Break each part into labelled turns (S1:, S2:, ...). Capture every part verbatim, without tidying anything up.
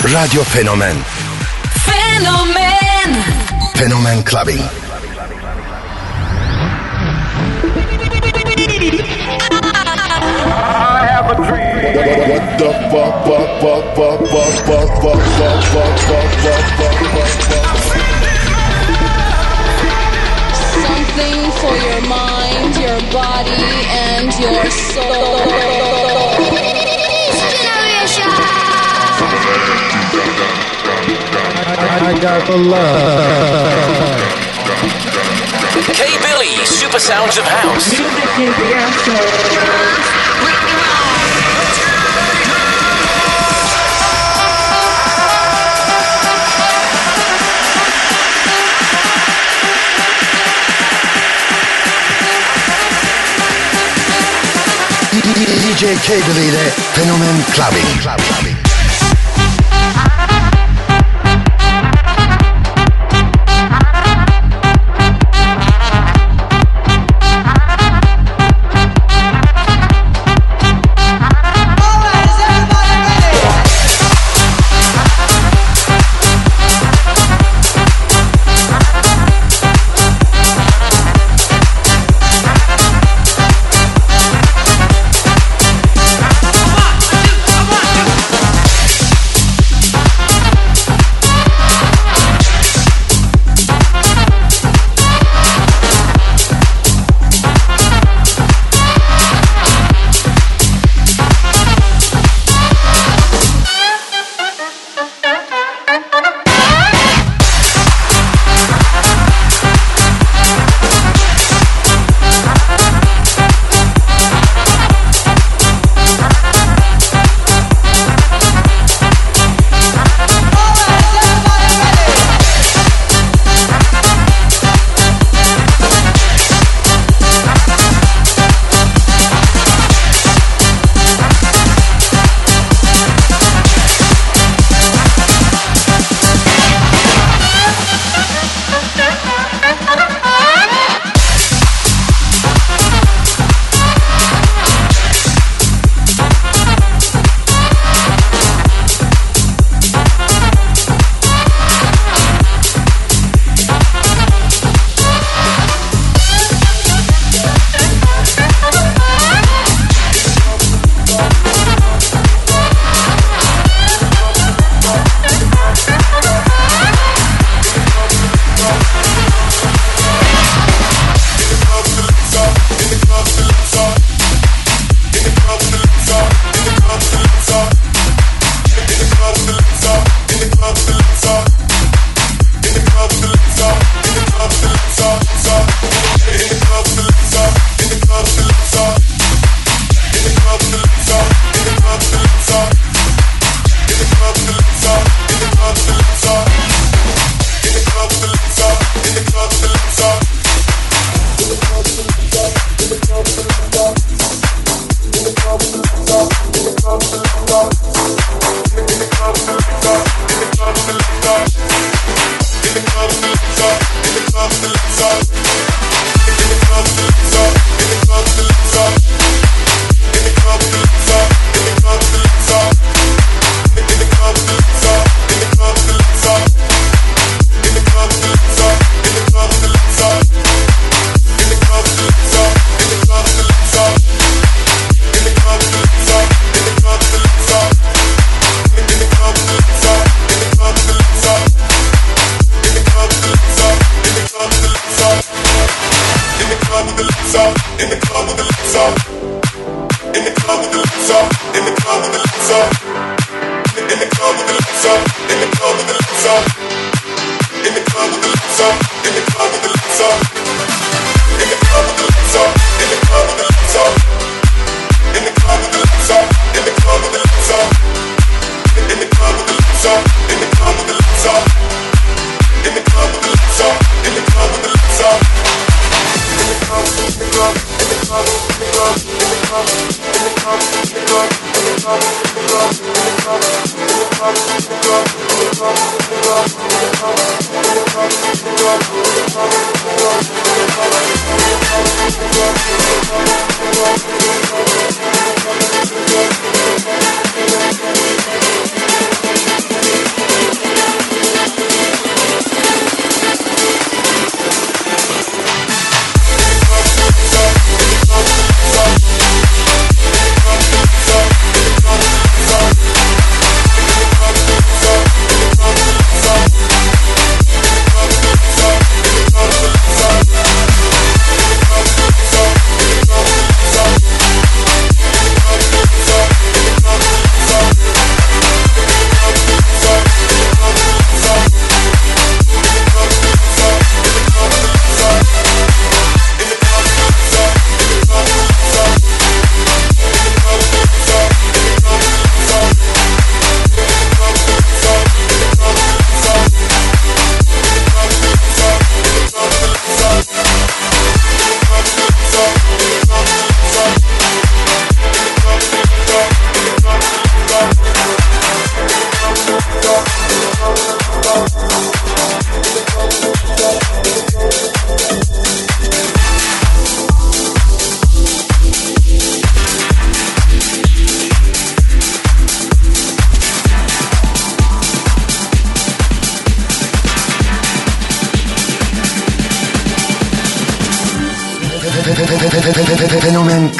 S1: Radyo Fenomen.
S2: Fenomen.
S1: Fenomen Clubbing.
S3: I have a dream. What the fuck, fuck, fuck, fuck, fuck, fuck, fuck, fuck, fuck, fuck, fuck, fuck, fuck.
S4: Something for your mind, your body, and your soul.
S5: I got the love.
S6: K-Billy, Super Sounds of House.
S7: Music is the answer.
S1: D J K-Billy ile Fenomen Clubbing. Clubbing.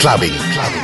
S1: Clubbing. Clubbing.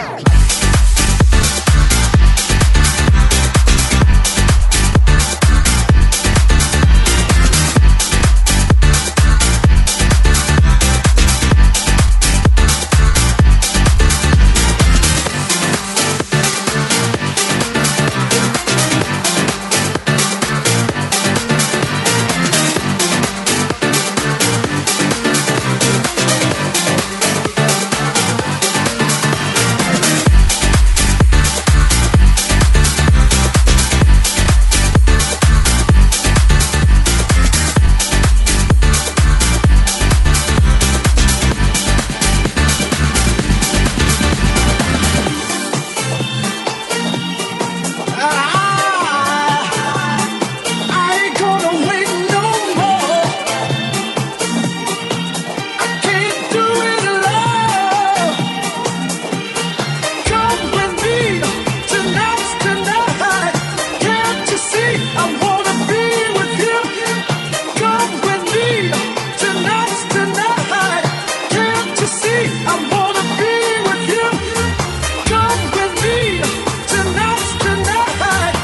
S2: Tonight,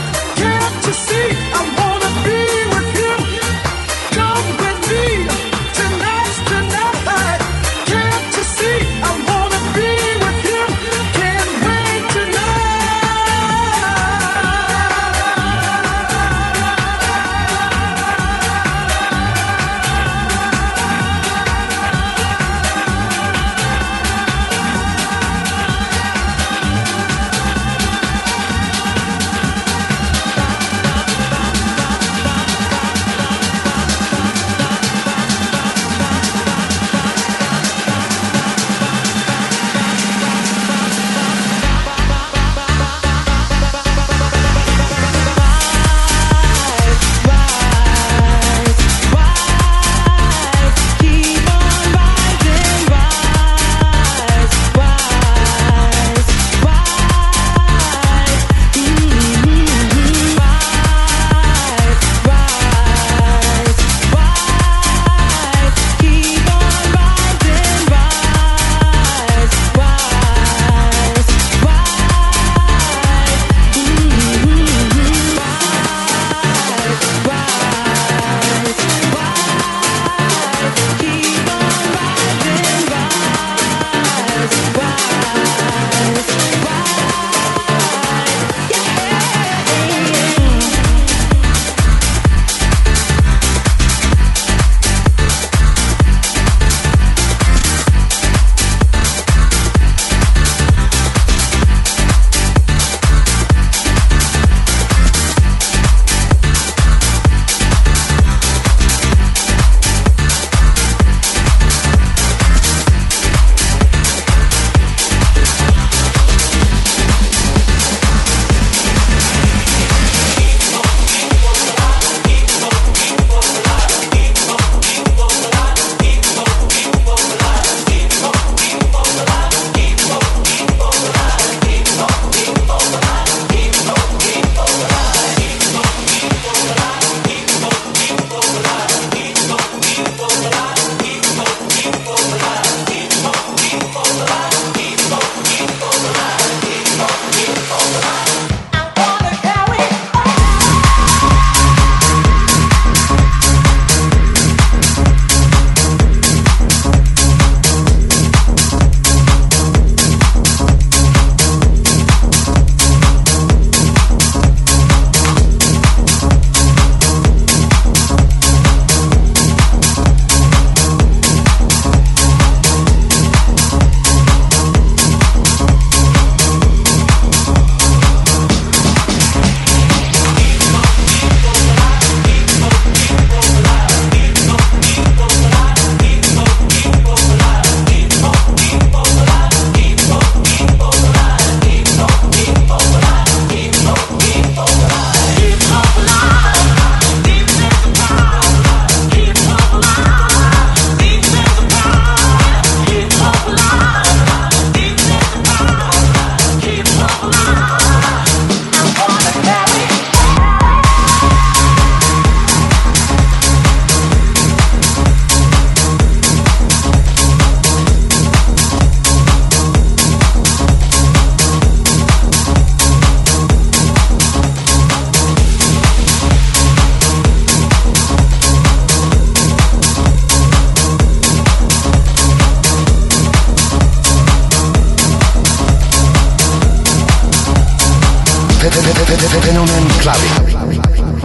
S1: clubbing.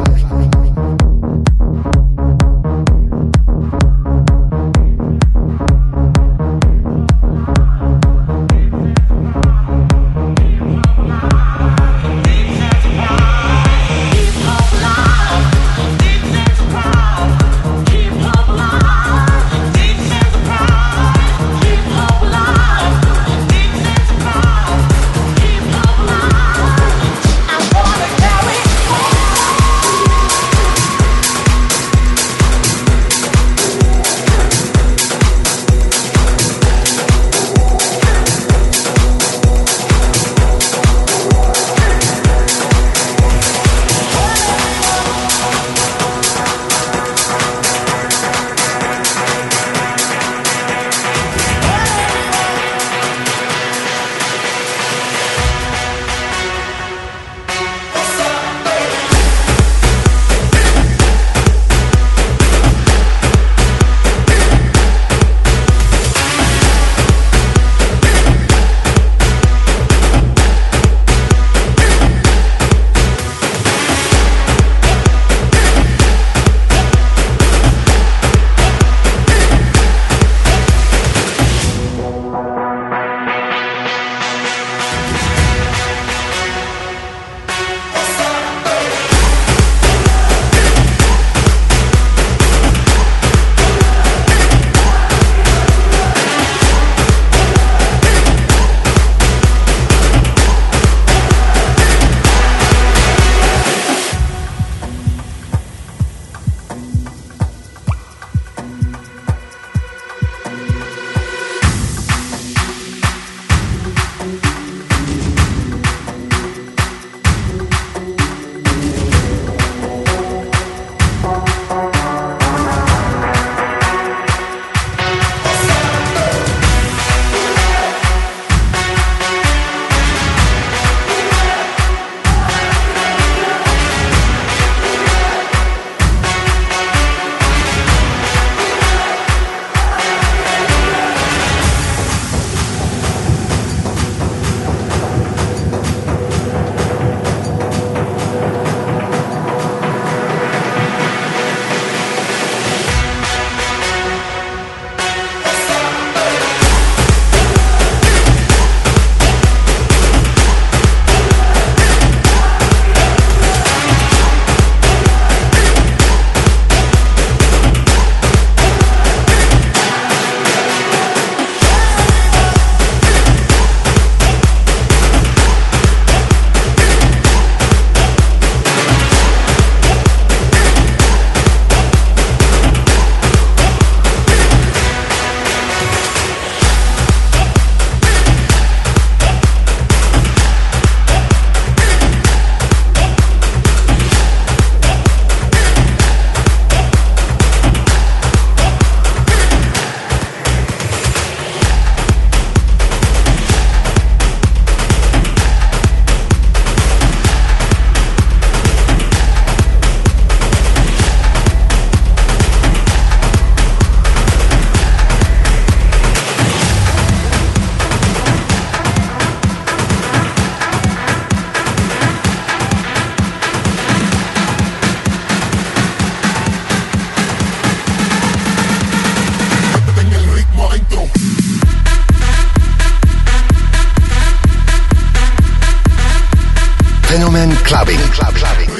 S1: Fenomen Clubbing. Club, clubbing.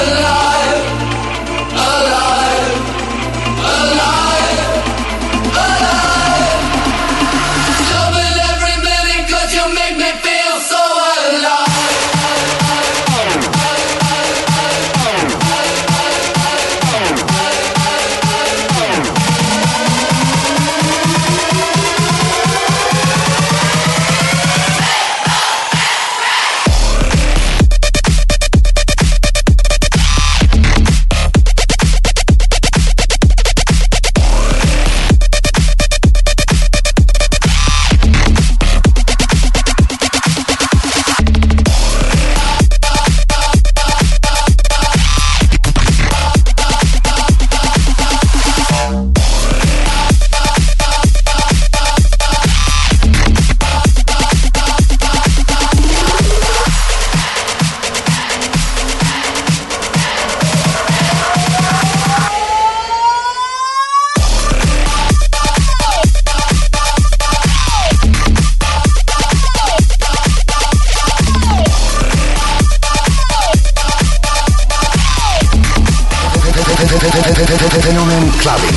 S1: Fenomen Clubbing.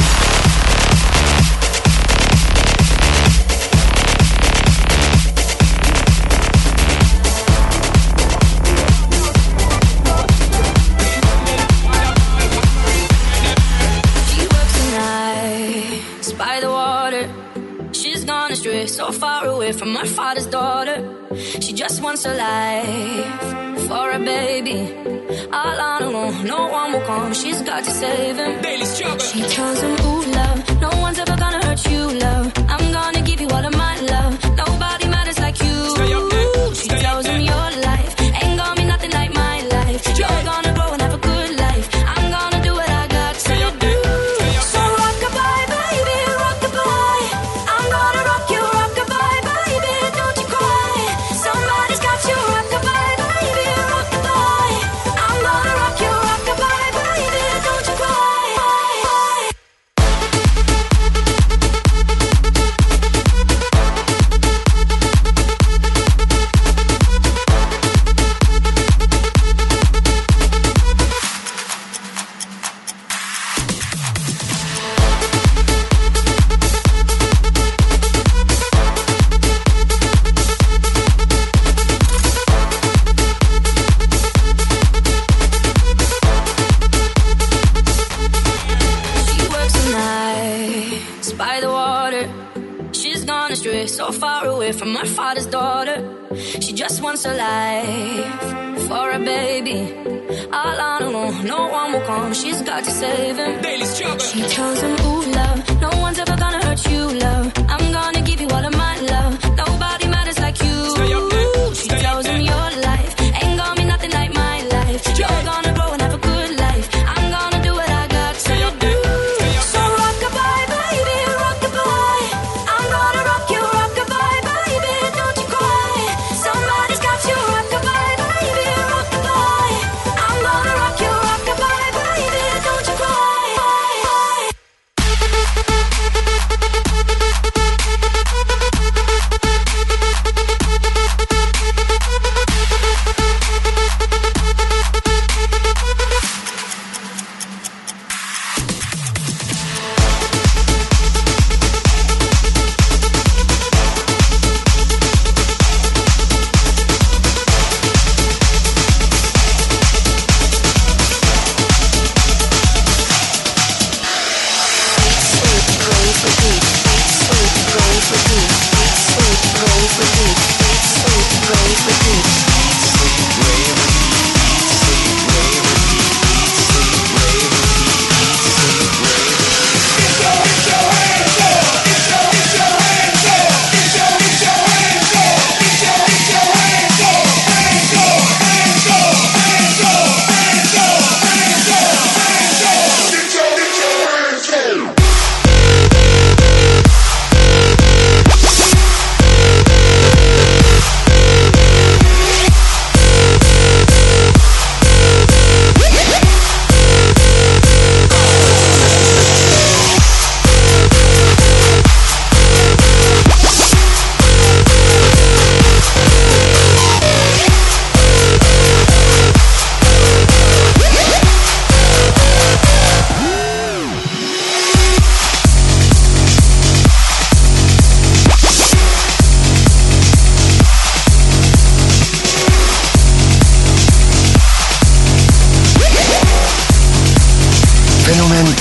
S2: So far away from her father's daughter, she just wants a life for a baby. All on her own, no one will come. She's got to save him. She tells him, ooh, love, no one's ever gonna hurt you, love. I'm gonna give you all of my love. Nobody matters like you. She tells him your life ain't gonna be nothing like my life. You're gonna grow and have a good life. I'm gonna do what I got to do. So rock-a-bye, baby, rock-a-bye. I'm gonna rock you. So far away from her father's daughter, she just wants a life for a baby. All on her own, no one will come. She's got to save him. She tells him, ooh, love, no one's ever gonna hurt you, love. I'm gonna give you all of my love. Nobody matters like you. She tells him your life ain't gonna be nothing like my life. You're gonna grow and have a good life. I'm gonna do what I got to do. So rock-a-bye, baby, rock-a-bye. I'm gonna rock you.
S8: Bye.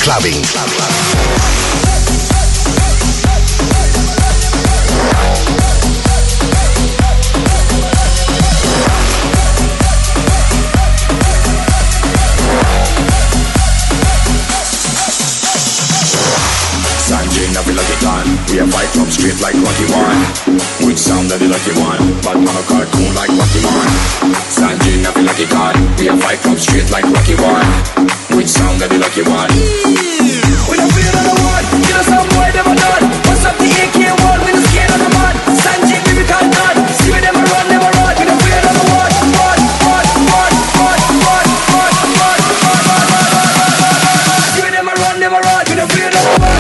S1: Clubbing.
S8: Sanjay, I feel like it done. We have fight from straight like Rocky One. Which sound that the lucky one? But man a cartoon like Rocky One. Sanjay, I feel like it done. We have fight from straight like Rocky One. Which sound that the lucky one? We don't feel another one. Get us some boy never done. What's up the A K one? We don't scared of the man. Sanjay, we can't done. See we never run, never run. We don't feel another one. Run, run, run, run, run, run, run, run, run, run. See we never run, never run. We don't feel another one.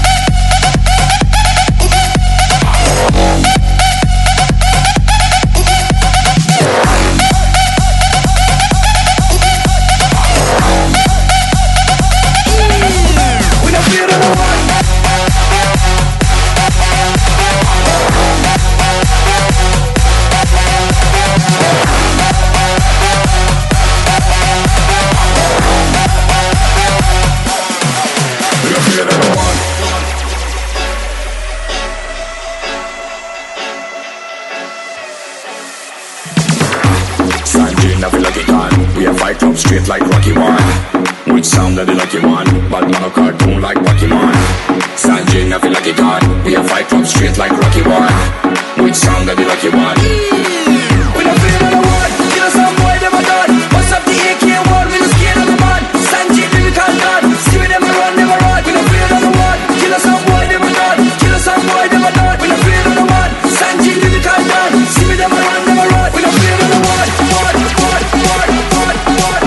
S8: Straight like Rocky One. Which sound that the lucky one? But man a cartoon like Rocky One. Sanjay, I feel like it done. We have fight from straight like Rocky One. Which sound that the lucky one? We don't feel another one. Get us some boy never done. What's up the A K one? We don't scared of the man. Sanjay, we can't done. See we never run, never run. We don't feel another one. Kill us some boy never done. Kill us some boy never done. We don't feel another one. Sanjay, we can't done. See we never run, never run. We don't feel another one. One, one, one, one, one.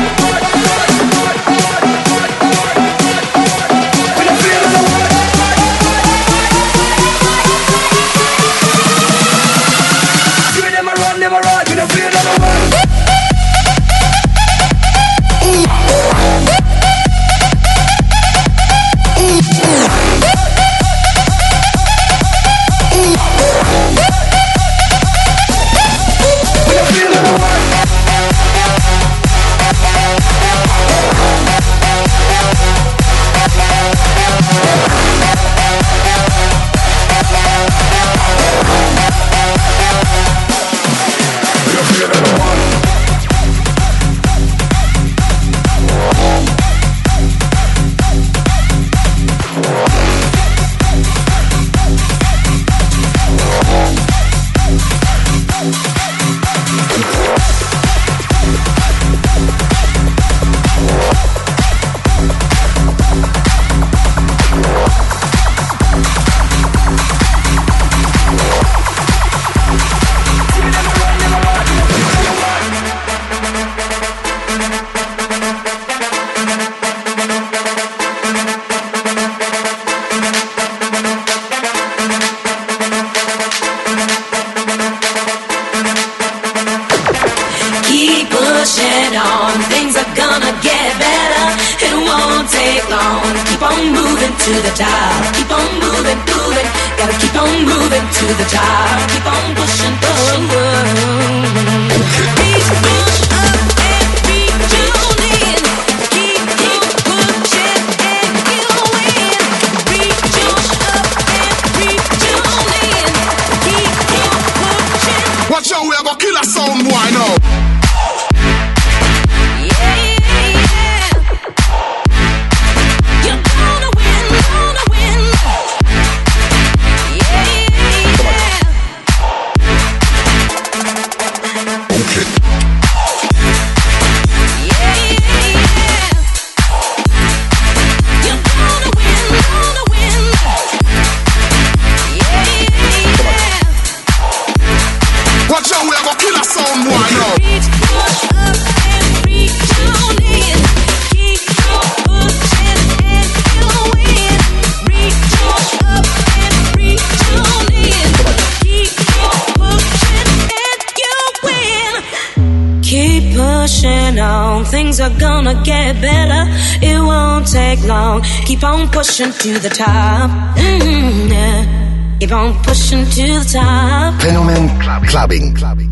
S2: Things are gonna get better. It won't take long. Keep on pushing to the top. Mm-hmm, yeah. Keep on pushing to the top.
S1: Fenomen Clubbing. Clubbing.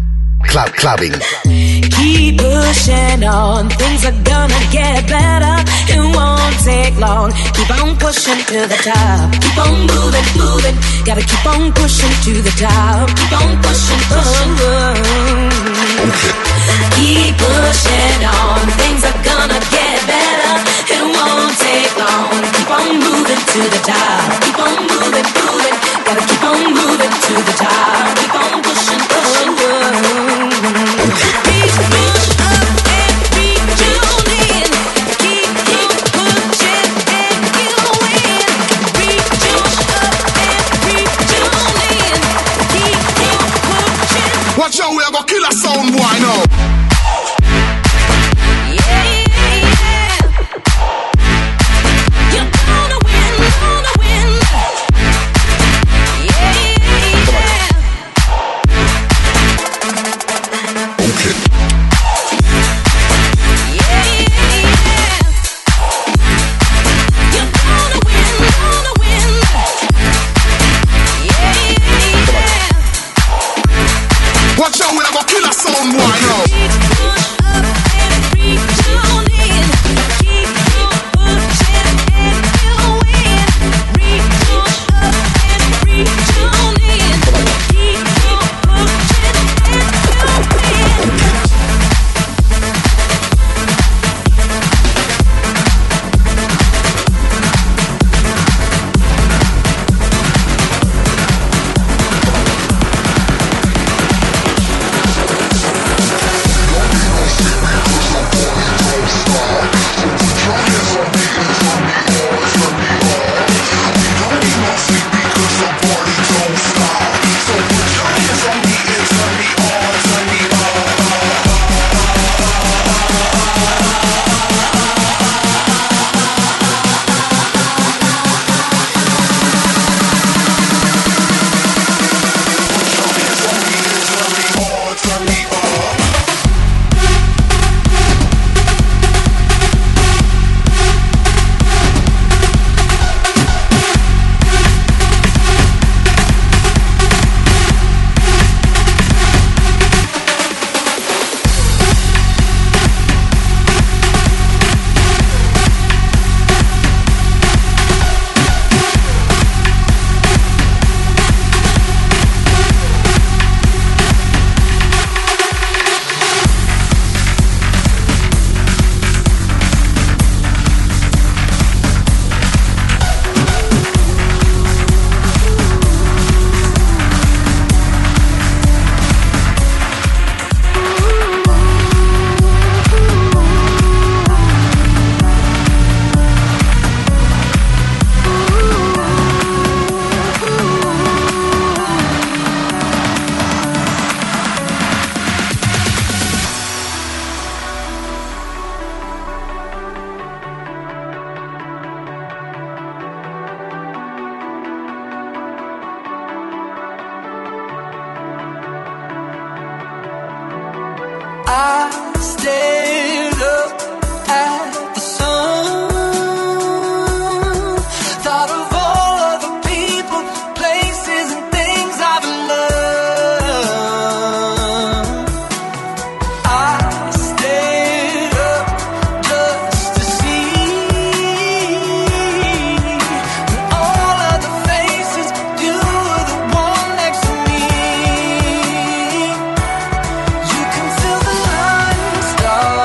S1: Club clubbing.
S2: Keep pushing on, things are gonna get better. It won't take long. Keep on pushing to the top. Keep on moving, moving. Gotta keep on pushing to the top. Keep on pushing, pushing.
S1: Okay.
S2: Keep pushing on, things are gonna get better. It won't take long. Keep on moving to the top. Keep on moving, moving. Gotta keep on moving to the top. Keep on pushing, pushing. Keep push up and retune in. Keep keep pushing and you win. Retune up and retune in. Keep keep pushing.
S3: Watch out, we are gonna kill a sound boy now.
S2: Yeah, yeah, yeah. You're gonna win, gonna win. Yeah, yeah, yeah.
S3: Okay.
S2: Yeah, yeah, yeah. You're gonna win, gonna win. Yeah, yeah, yeah.
S3: Watch out, we are gonna kill a sound boy now.
S2: Keep push up and retune in. Keep pushing and you'll win. Retune up and retune in. Keep pushing and you'll win. I stared up at the sun, thought of all of the people, places, and things I've loved. I stared up just to see all of the faces. You were the one next to me. You can feel the line start.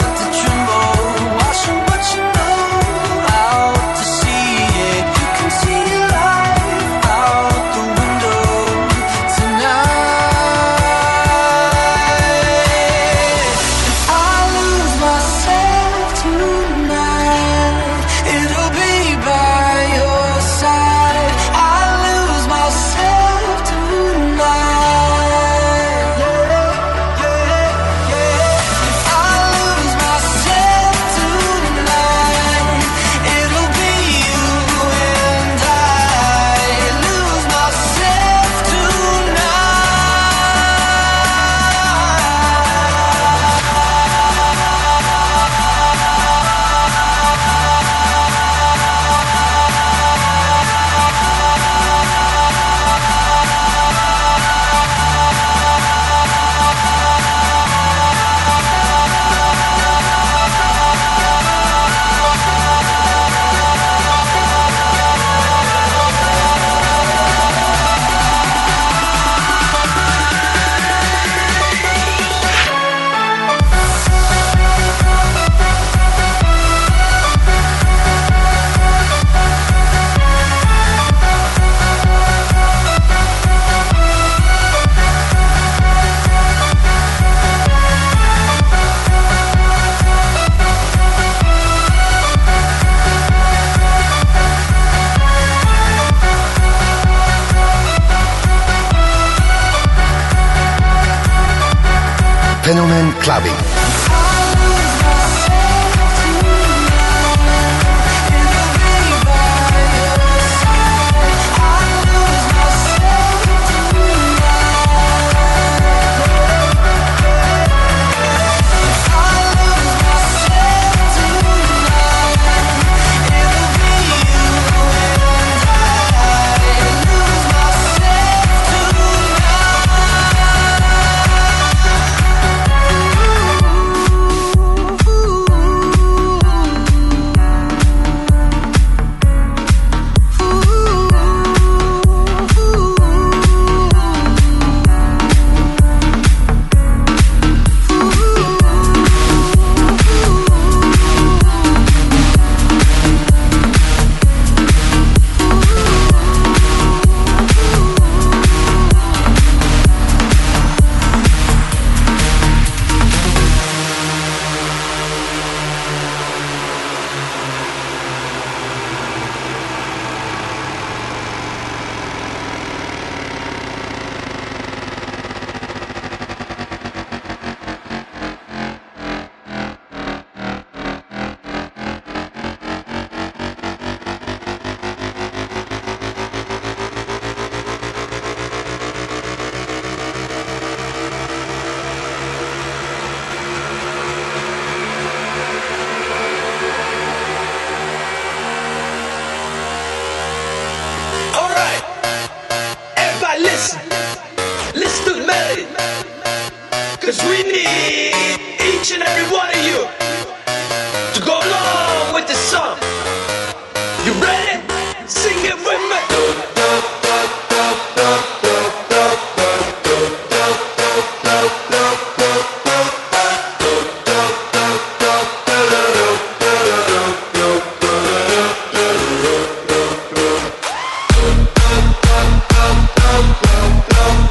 S1: Fenomen Clubbing.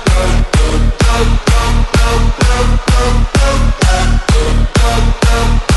S9: Up,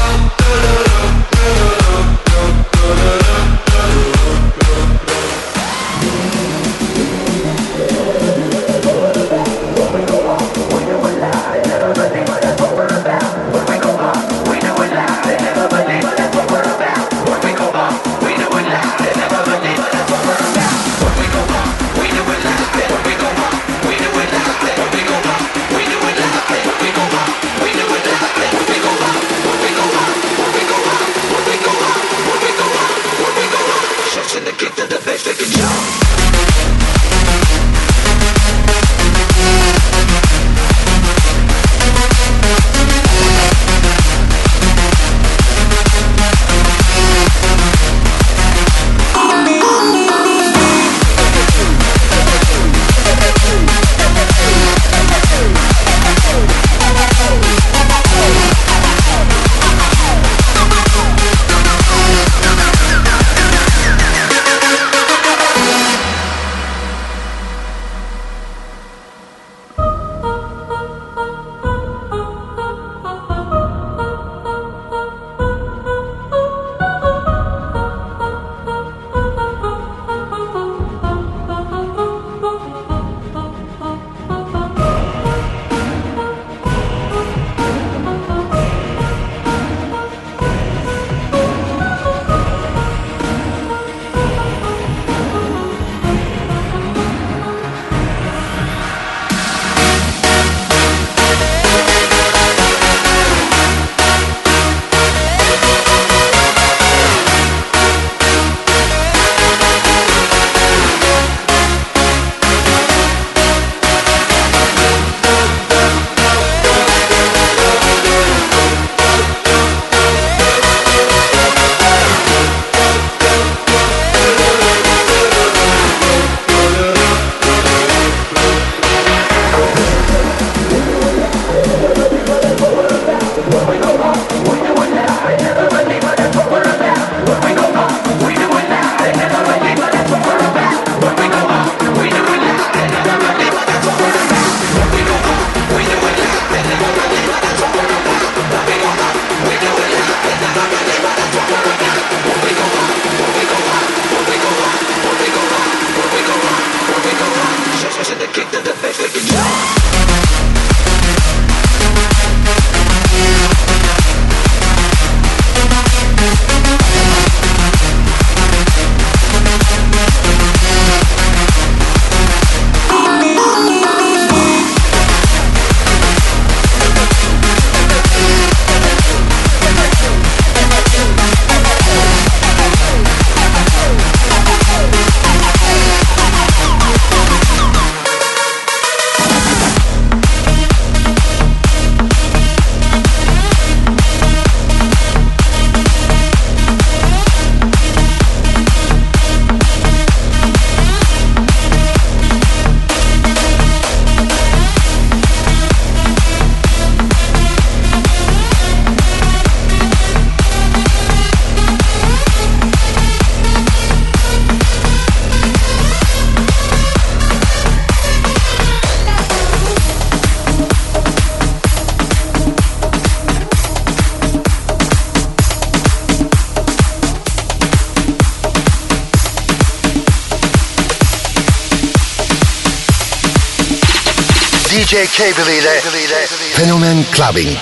S1: D J Cable ile Fenomen Clubbing.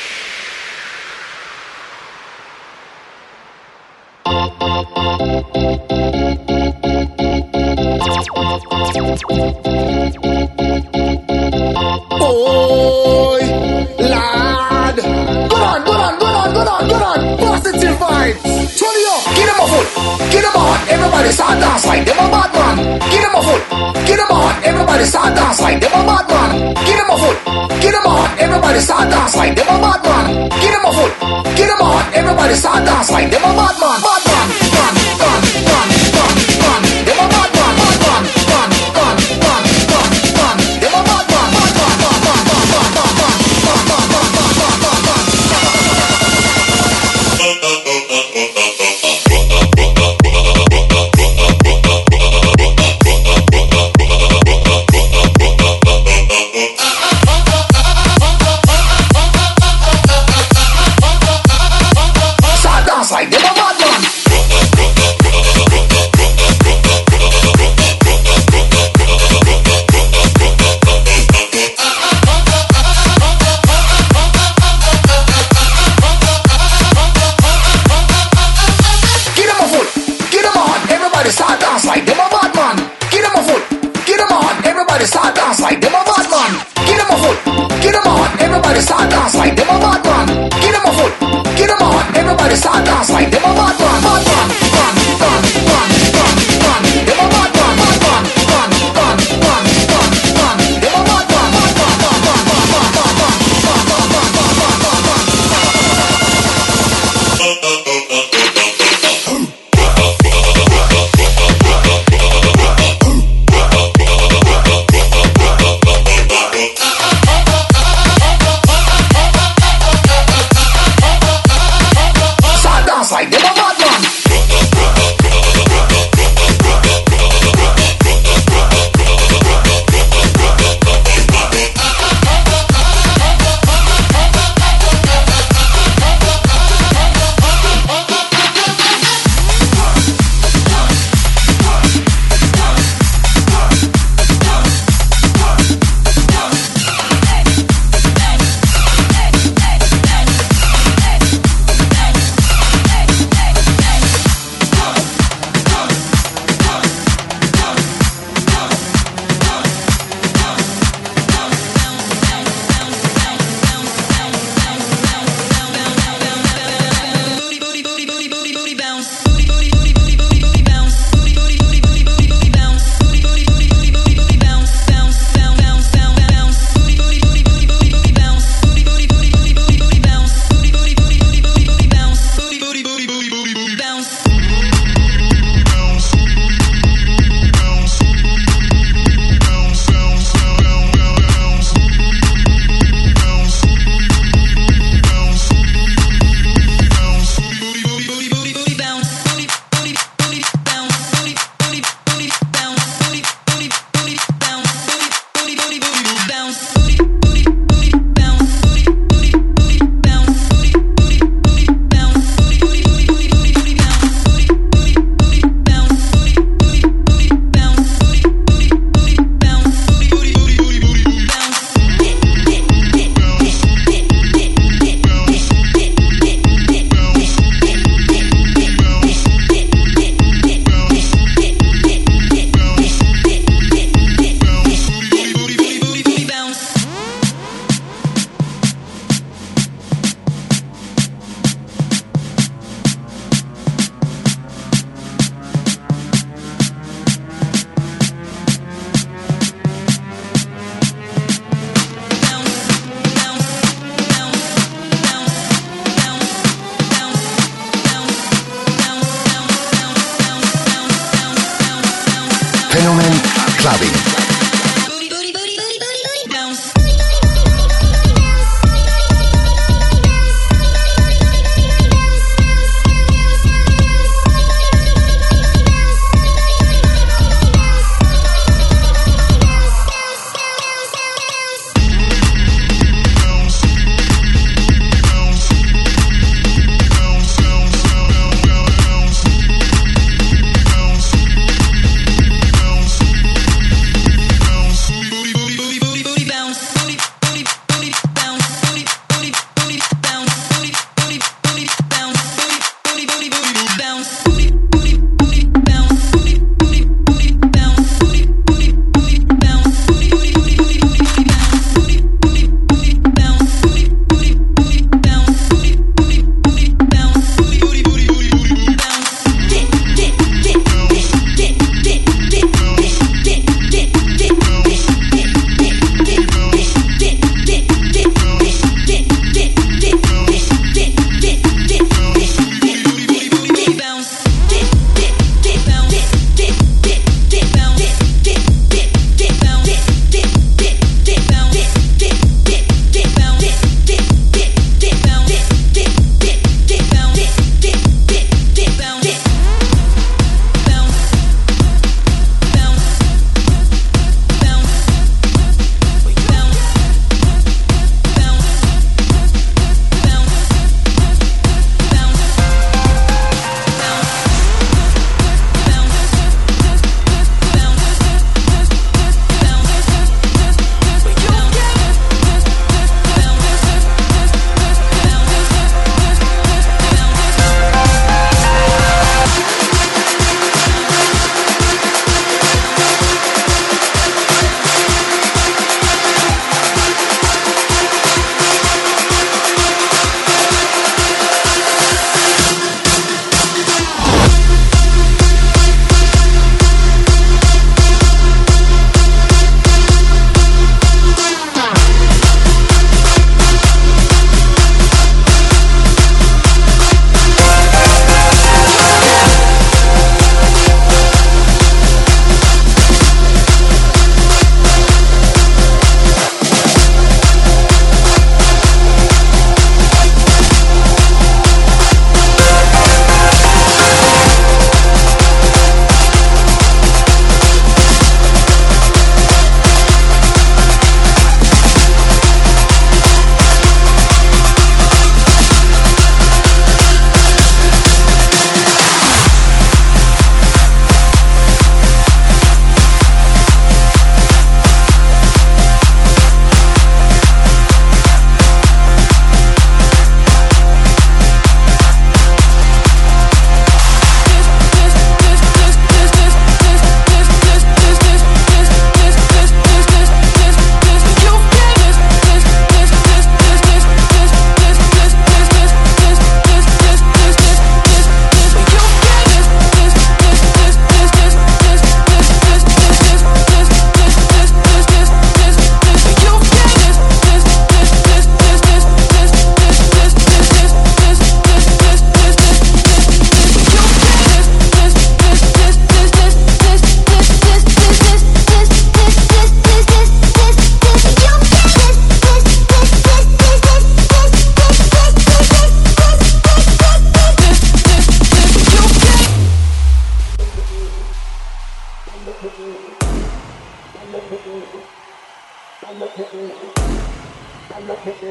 S9: Boy, lad, good on, good on, good on, good on, good on. Positive vibes. Turn it up. Get them a foot. Get them on. Everybody start dance like them a bad man. Get them a foot. Get them on. Everybody start dance like them a bad man. Get them a foot. Get them on. Everybody start dance like them a bad man. Get them a foot. Get them on. Everybody start dance like them a bad man. Bad man. Man, man, man, man, man. Them a bad man. Bad man. Man, man, man, man, man. Them a bad man. Bad man, man, man, man, man, man, man, man, man, man, man, man, man. Like them a bad man. Get them a foot, get them on, everybody start dance like them a bad man. Get them a foot, get them on, everybody start dance like them a bad man. Get them a foot, get them on, everybody start dance like them a bad man. Get them a foot, get them on, everybody start dance like them a bad man. Bad man, man, man, man, man, man. Them a bad man, bad man, man, man, man, man, man. Them a bad man, bad man, man, man, man, man, man, man, man, man, man, man, man. Start dance like them a bad man.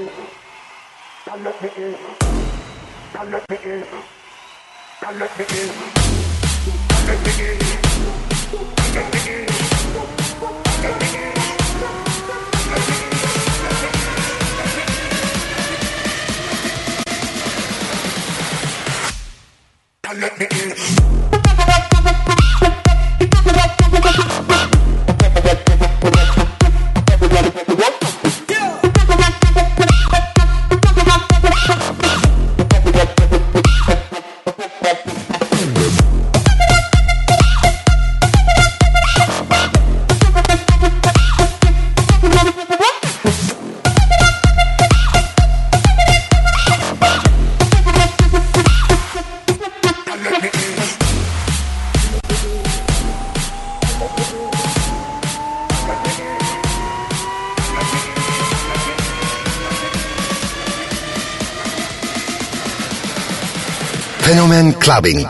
S9: Don't let me in. Don't let me in. Don't let me in. Don't let me in. Don't let me in. Don't let me in. Don't let me in.
S1: Fenomen Clubbing.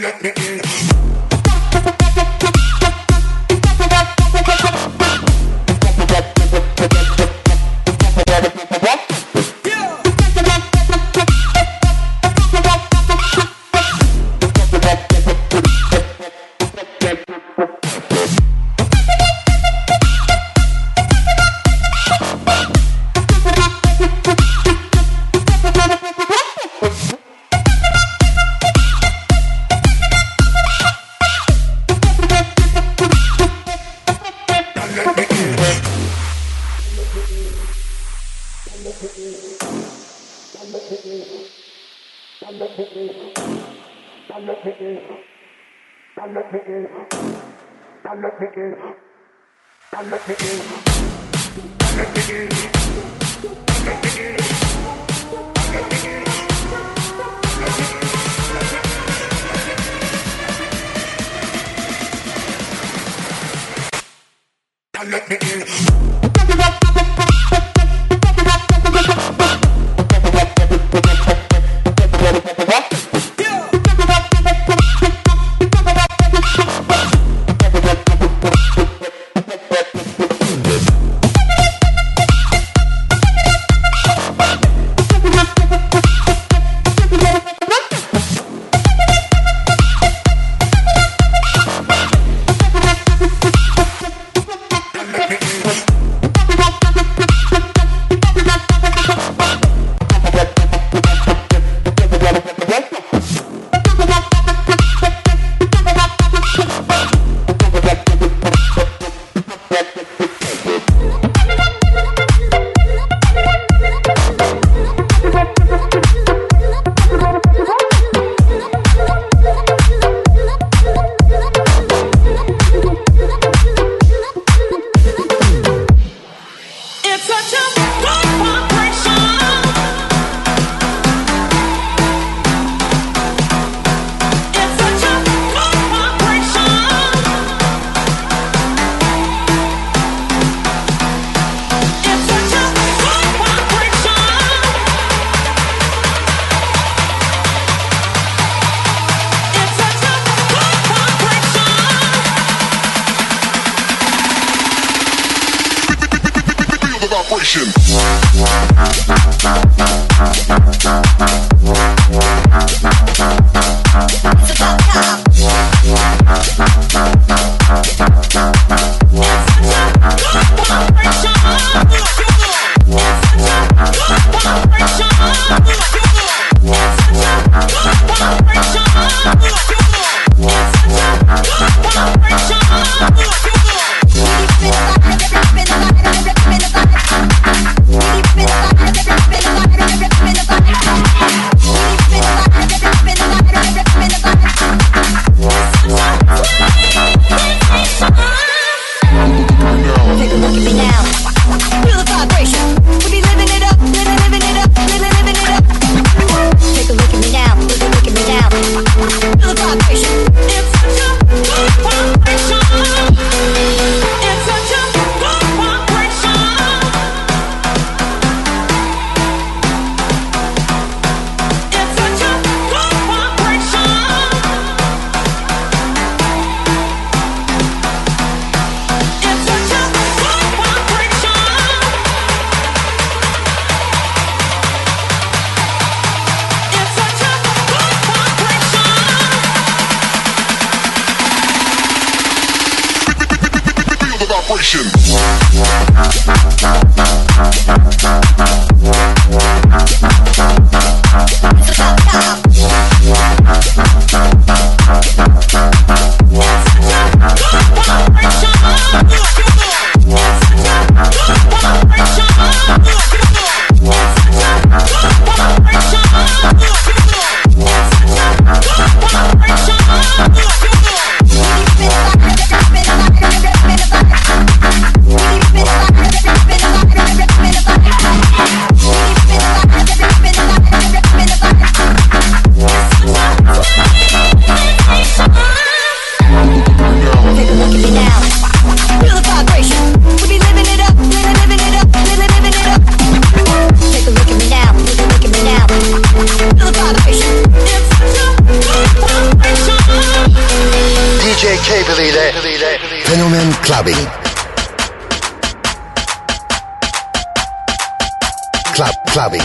S9: Let me in.
S2: Bye.
S3: vibration.
S1: Fenomen Clubbing. Club Clubbing.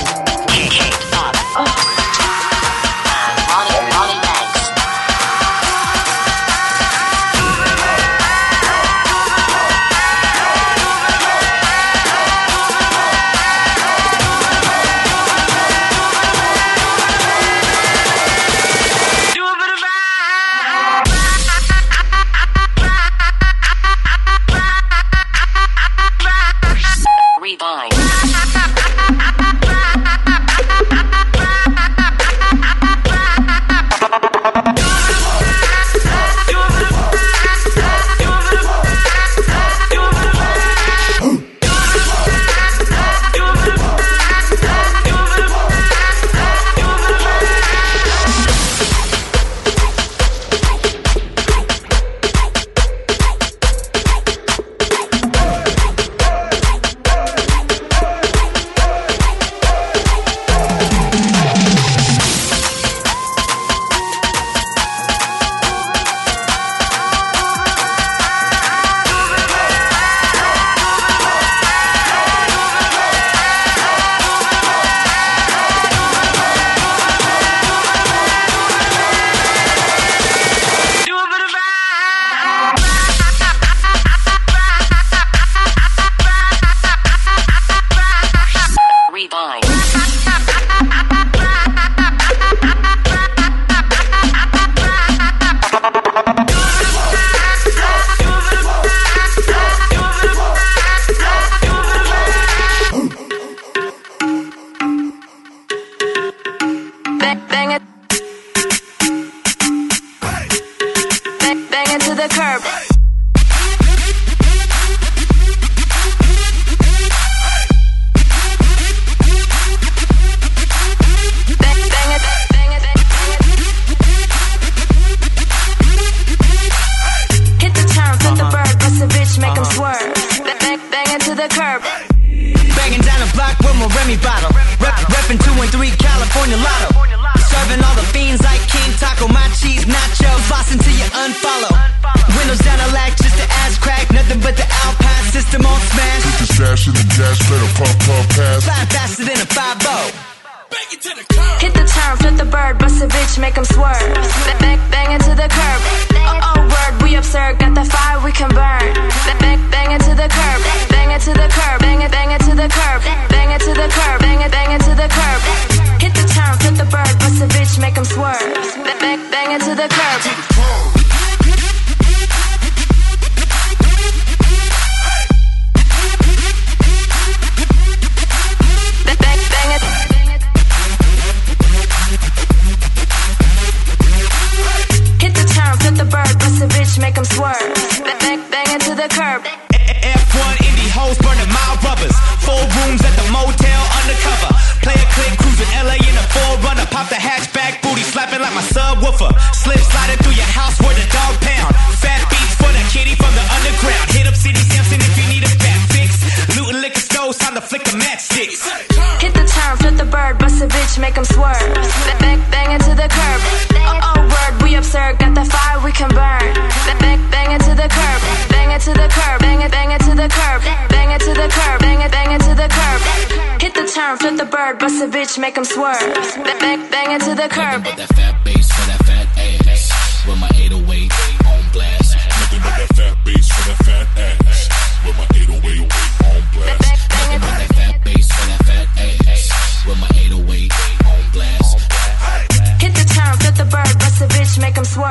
S2: Make them swerve, bang, bang into the curb.
S10: Nothing but that fat bass for that fat ass. With my eight oh eight on blast. Nothing but that fat bass for that fat ass.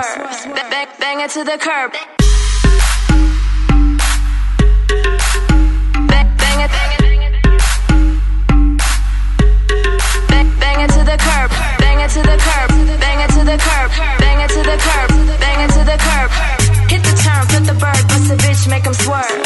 S2: swerve. Bang, bang it to the curb. Bang, bang it. Bang, bang it to the curb. Bang it to the curb. Bang it to the curb. Bang it to the curb. Bang it to the curb. Hit the turn, flip the bird, bust a bitch, make 'em swerve.